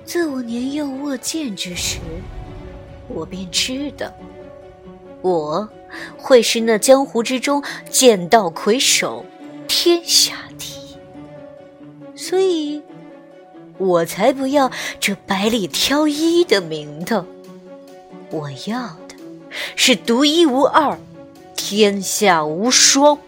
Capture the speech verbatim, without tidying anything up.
自我年幼握剑之时，我便知道，我会是那江湖之中剑道魁首，天下第一。所以我才不要这百里挑一的名头，我要的是独一无二，天下无双。